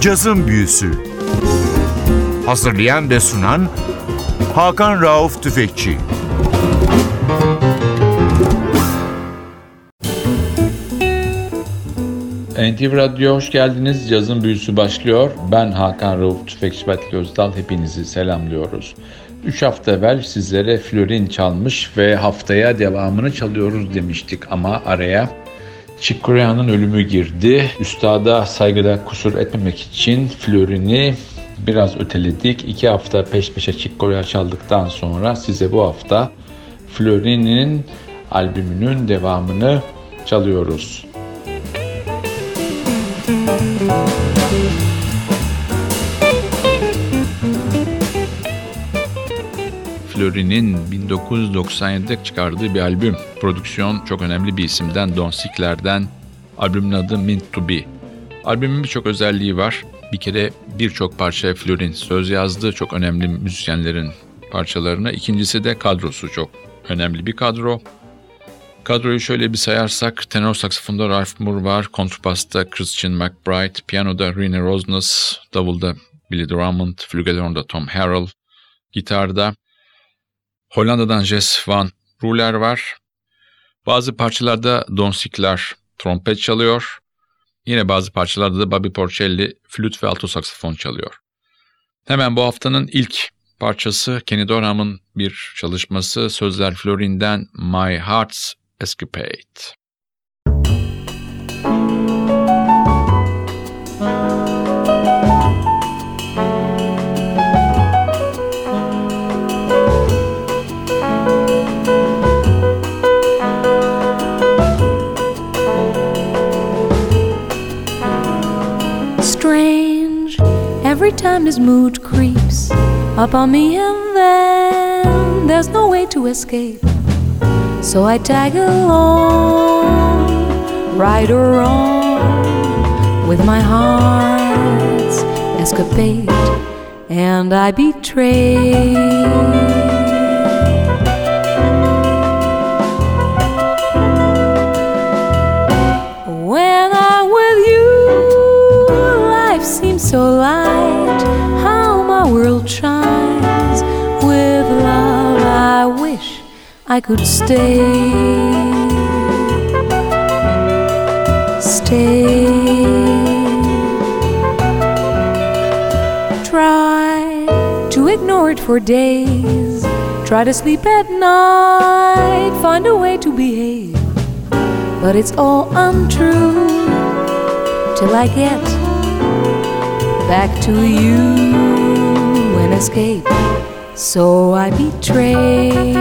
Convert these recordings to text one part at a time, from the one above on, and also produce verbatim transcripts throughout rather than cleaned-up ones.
Cazın Büyüsü. Hazırlayan ve sunan Hakan Rauf Tüfekçi. N T V Radyo hoş geldiniz. Cazın Büyüsü başlıyor. Ben Hakan Rauf Tüfekçi Batlı Özdal. Hepinizi selamlıyoruz. üç hafta evvel sizlere Florin çalmış ve haftaya devamını çalıyoruz demiştik ama araya Chick Corea'nın ölümü girdi. Üstada saygıda kusur etmemek için Florin'i biraz öteledik. İki hafta peş peşe Chick Corea çaldıktan sonra size bu hafta Florin'in albümünün devamını çalıyoruz. Florin'in bin dokuz yüz doksan yedide çıkardığı bir albüm. Prodüksiyon çok önemli bir isimden, Don Sickler'den. Albümün adı Meant to Be. Albümün birçok özelliği var. Bir kere birçok parçaya Florin söz yazdı. Çok önemli müzisyenlerin parçalarına. İkincisi de kadrosu çok önemli bir kadro. Kadroyu şöyle bir sayarsak, tenor saksafonda Ralph Moore var, kontrbasta Christian McBride, piyanoda Rene Rosnes, davulda Billy Drummond, flügelhornda Tom Harrell, gitarda Hollanda'dan Jess Van Ruler var. Bazı parçalarda Don Sickler trompet çalıyor. Yine bazı parçalarda da Bobby Porcelli flüt ve alto saksafon çalıyor. Hemen bu haftanın ilk parçası Kenny Dorham'ın bir çalışması, sözler Florin'den My Heart's Escapade. Strange, every time this mood creeps up on me and then there's no way to escape. So I tag along, right or wrong, with my heart's escapade, and I betray. When I'm with you, life seems so light, how my world shines with love. I wish I could stay, stay. Try to ignore it for days, try to sleep at night, find a way to behave, but it's all untrue till I get back to you and escape. So I betray.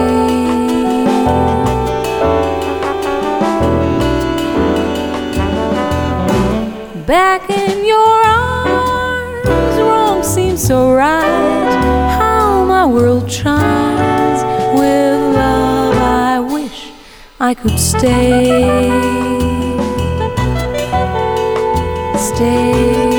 Back in your arms, wrong seems so right, how my world shines with love. I wish I could stay, stay.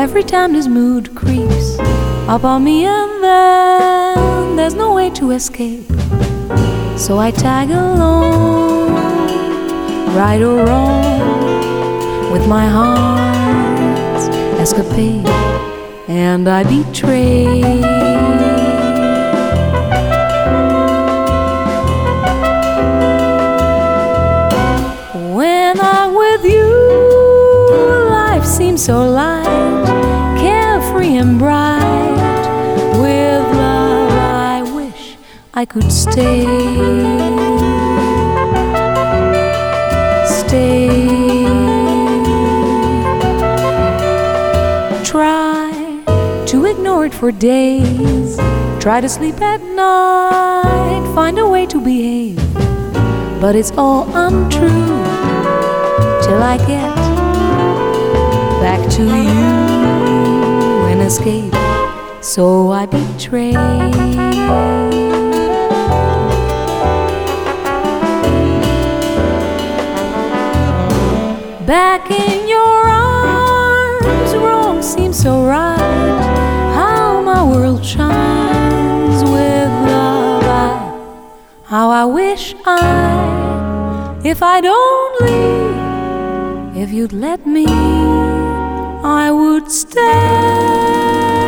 every time this mood creeps up on me, and then there's no way to escape. So I tag along, right or wrong, with my heart's escapade, and I betray. When I'm with you, life seems so light, carefree and bright. With love I wish I could stay, stay. Try to ignore it for days, try to sleep at night, find a way to behave, but it's all untrue till I get back to you and escape. So I betray. Back in your arms, wrong seems so right. How my world shines with love. I, how I wish I, if I'd only, if you'd let me, I would stay.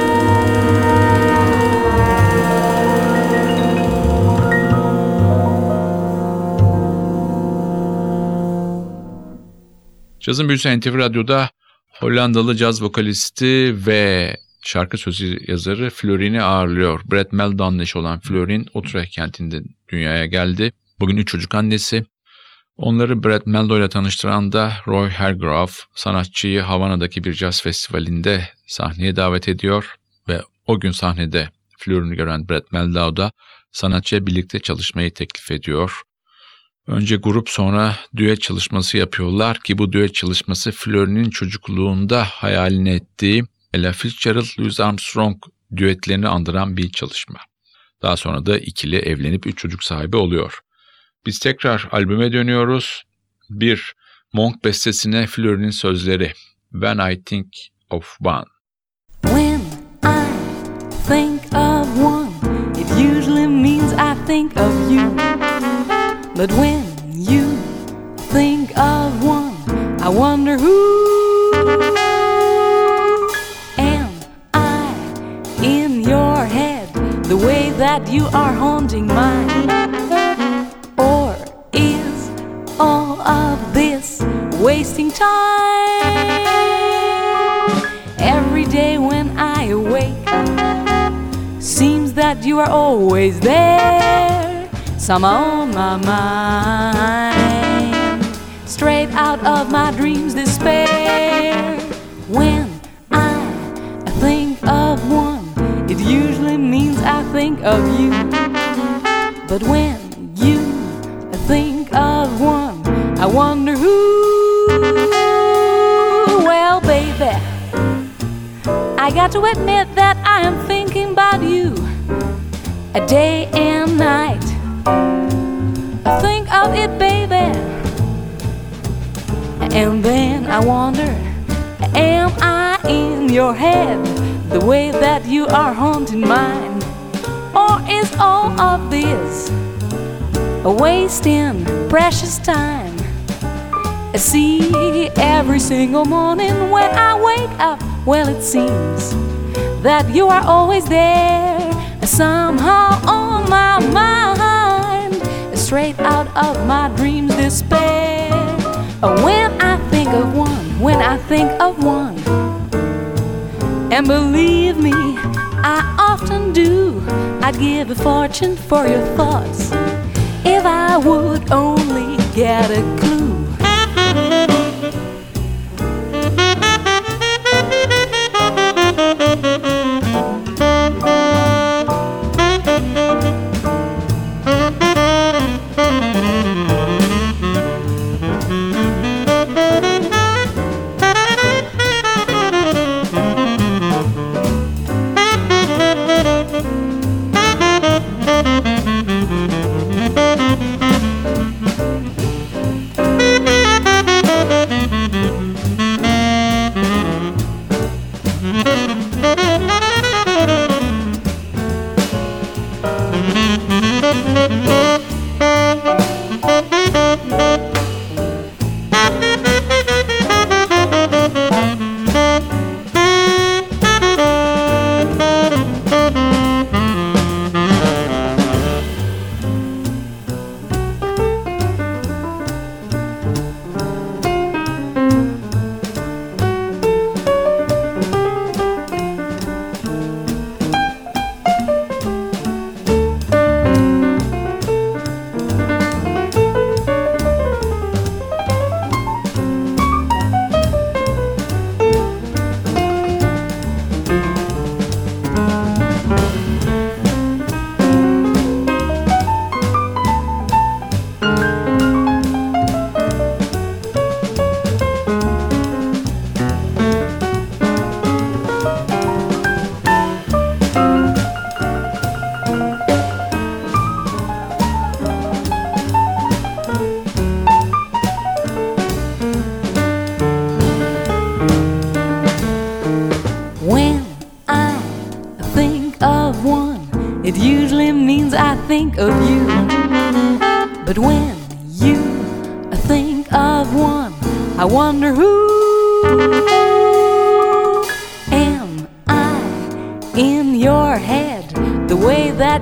Cazın Büyüsü N T V Radyo'da Hollandalı caz vokalisti ve şarkı sözü yazarı Florin'i ağırlıyor. Brett Meldon'la eşi olan Florin, Utrecht kentinde dünyaya geldi. Bugün üç çocuk annesi. Onları Brett Meldon ile tanıştıran da Roy Hargrove, sanatçıyı Havana'daki bir caz festivalinde sahneye davet ediyor ve o gün sahnede Florin'i gören Brett Meldon da sanatçıya birlikte çalışmayı teklif ediyor. Önce grup, sonra düet çalışması yapıyorlar ki bu düet çalışması Florin'in çocukluğunda hayalini ettiği Ella Fitzgerald, Louis Armstrong düetlerini andıran bir çalışma. Daha sonra da ikili evlenip üç çocuk sahibi oluyor. Biz tekrar albüme dönüyoruz. Bir Monk bestesine Florin'in sözleri. When I Think of One. When I think of one, it usually means I think of you. But when you think of one, I wonder who am I in your head, the way that you are haunting mine? Or is all of this wasting time? Every day when I awake, seems that you are always there. Some on my mind, straight out of my dreams despair. When I think of one, it usually means I think of you. But when you think of one, I wonder who. Well, baby, I got to admit that I am thinking about you a day and night. Think of it, baby, and then I wonder, am I in your head, the way that you are haunting mine? Or is all of this a wasting precious time? I see every single morning when I wake up, well, it seems that you are always there, somehow on my mind, straight out of my dreams despair. When I think of one, when I think of one, and believe me, I often do, I'd give a fortune for your thoughts if I would only get a clue.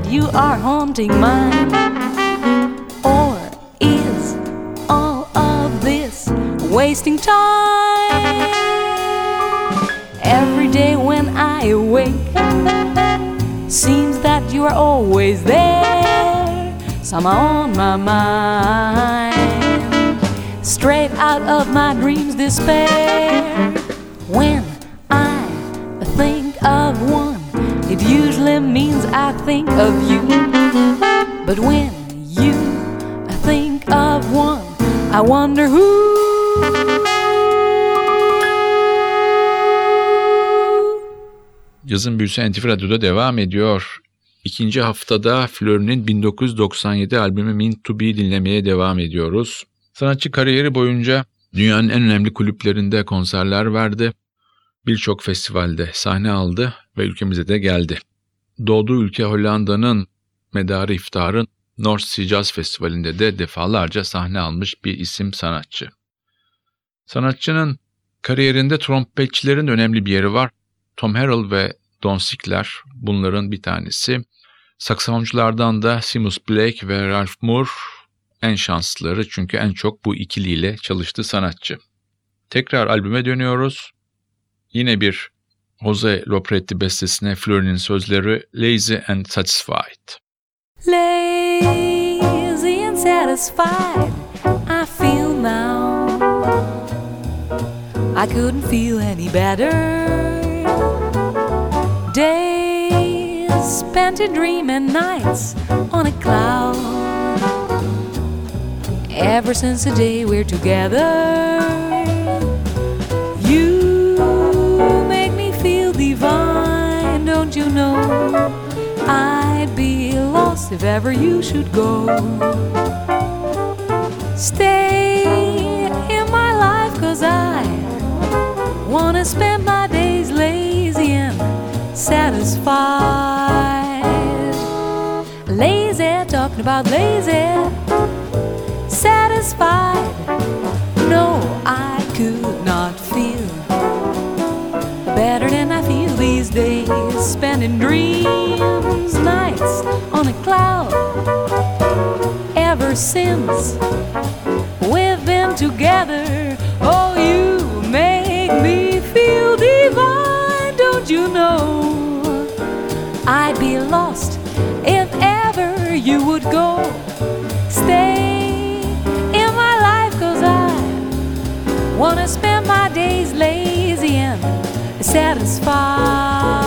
you are haunting mine? Or is all of this wasting time? Every day when I awake, seems that you are always there, somehow on my mind, straight out of my dreams despair. When I think of one, it usually means I think of you. But when you think of one, I wonder who. Yazın Büyüsü N T V Radyo'da devam ediyor. İkinci haftada Fleury'nin bin dokuz yüz doksan yedi albümü Meant to Be dinlemeye devam ediyoruz. Sanatçı kariyeri boyunca dünyanın en önemli kulüplerinde konserler verdi. Birçok festivalde sahne aldı ve ülkemize de geldi. Doğduğu ülke Hollanda'nın medarı iftiharın North Sea Jazz Festivali'nde de defalarca sahne almış bir isim sanatçı. Sanatçının kariyerinde trompetçilerin önemli bir yeri var. Tom Harrell ve Don Sickler bunların bir tanesi. Saksafonculardan da Seamus Blake ve Ralph Moore en şanslıları, çünkü en çok bu ikiliyle çalıştı sanatçı. Tekrar albüme dönüyoruz. Yine bir Jose Lopretti bestesine Fleury'nin sözleri Lazy and Satisfied. Lazy and satisfied I feel now. I couldn't feel any better. Days spent in dreaming, nights on a cloud. Ever since the day we're together, you make me feel divine. Don't you know I'd be lost if ever you should go. Stay in my life, 'cause I wanna spend my days lazy and satisfied. Lazy, talking about lazy, satisfied. No, I could not feel better than I feel these days, spending dreams, nights on a cloud. Ever since we've been together, oh, you make me feel divine. Don't you know I'd be lost if ever you would go. Stay in my life, 'cause I wanna spend my days lazy and satisfied.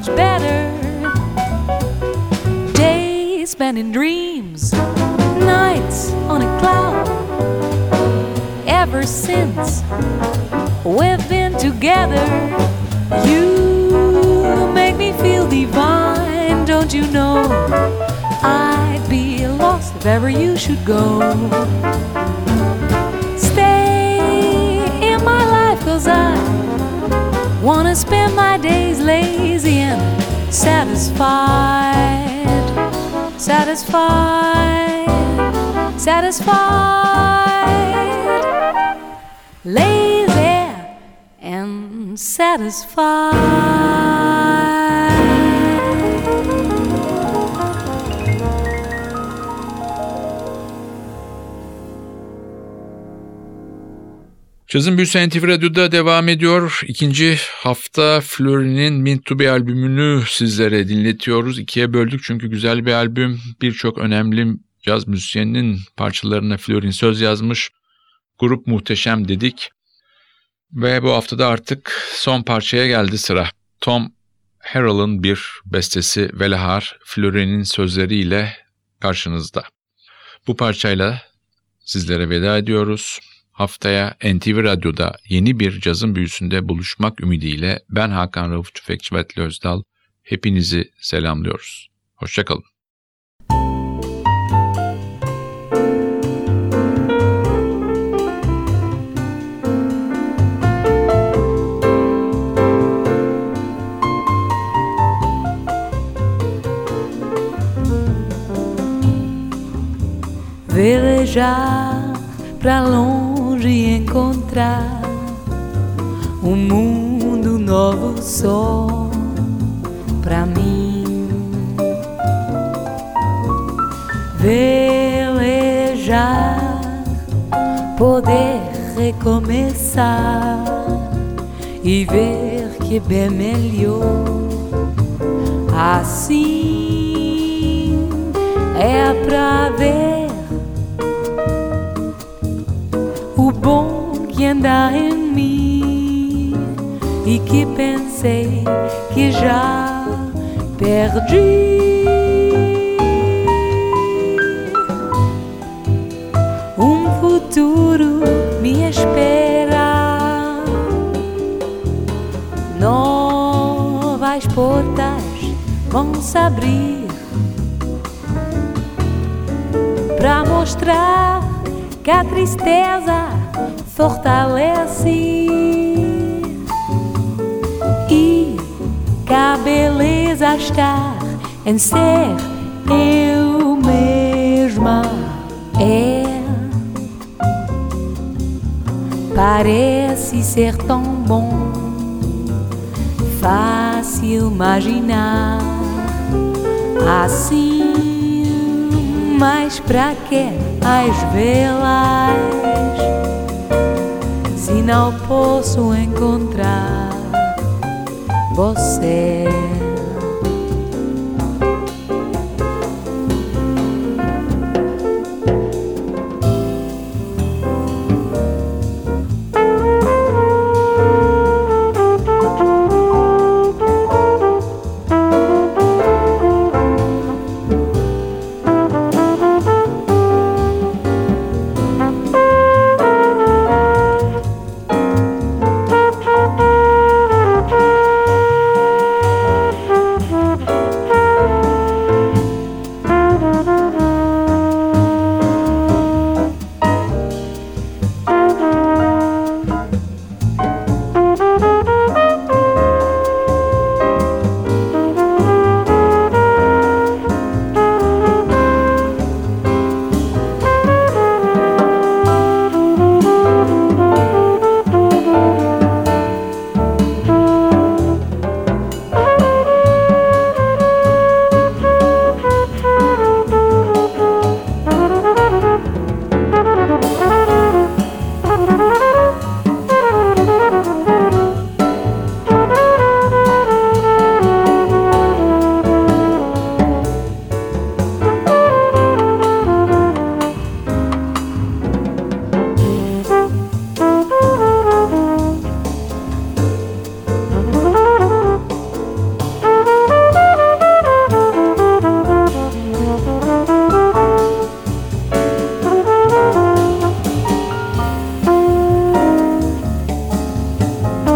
much better. Days spent in dreams, nights on a cloud. Ever since we've been together, you make me feel divine. Don't you know I'd be lost if ever you should go. Stay in my life, 'cause I wanna spend my days lazy and satisfied. Satisfied, satisfied, lazy and satisfied. Cazın Büyüsü N T V Radyo'da devam ediyor. İkinci hafta Fleury'nin Meant to Be albümünü sizlere dinletiyoruz. İkiye böldük çünkü güzel bir albüm. Birçok önemli caz müzisyeninin parçalarına Fleury söz yazmış. Grup muhteşem dedik. Ve bu haftada artık son parçaya geldi sıra. Tom Harrell'ın bir bestesi Velahar, Fleury'nin sözleriyle karşınızda. Bu parçayla sizlere veda ediyoruz. Haftaya N T V Radyo'da yeni bir cazın büyüsünde buluşmak ümidiyle ben Hakan Rauf Tüfekçi ve Atli Özdal hepinizi selamlıyoruz. Hoşça kalın. Velejar pra longe e encontrar um mundo novo só pra mim. Velejar, poder recomeçar e ver que bem melhor assim é pra ver o bom que anda em mim e que pensei que já perdi. Um futuro me espera, novas portas vão se abrir pra mostrar que a tristeza fortalece e que a beleza está em ser eu mesma. É, parece ser tão bom, fácil imaginar assim, mas pra que as velas se não posso encontrar você?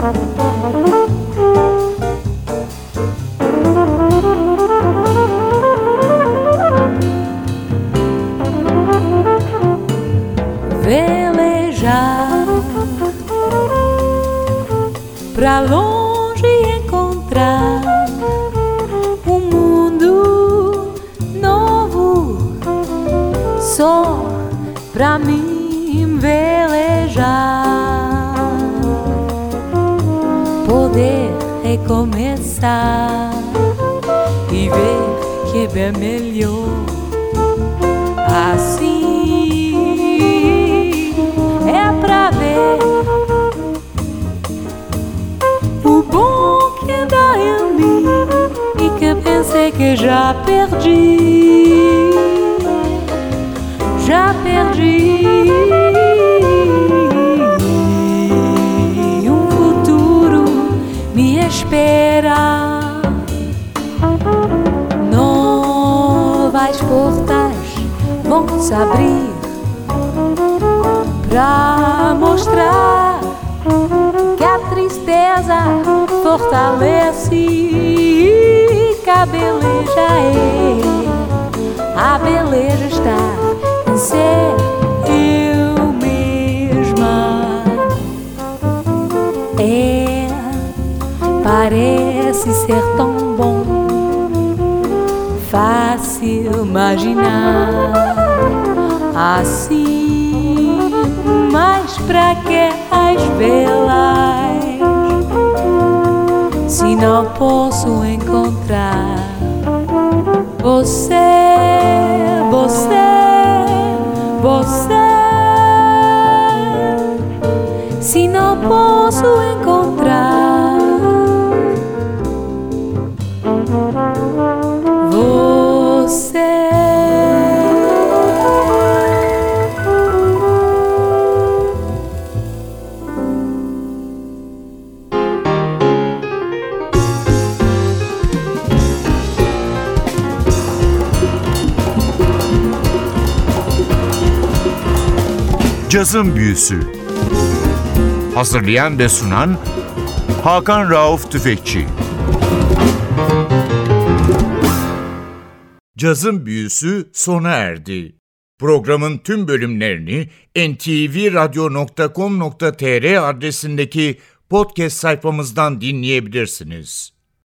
Velejar pra longe encontrar um mundo novo só pra mim velejar, poder recomeçar e ver que é bem melhor assim. É pra ver o bom que dá em mim e que pensei que já perdi, já perdi. Um futuro me espera, novas portas vão se abrir pra mostrar que a tristeza fortalece e que a beleza é, a beleza está em ser eu mesma. É, parece ser tão bom, fácil imaginar assim. Mas pra que as velas se não posso encontrar você, você, você? Se não posso encontrar você. Cazın Büyüsü. Hazırlayan ve sunan Hakan Rauf Tüfekçi. Cazın Büyüsü sona erdi. Programın tüm bölümlerini en te ve radyo nokta com nokta te er adresindeki podcast sayfamızdan dinleyebilirsiniz.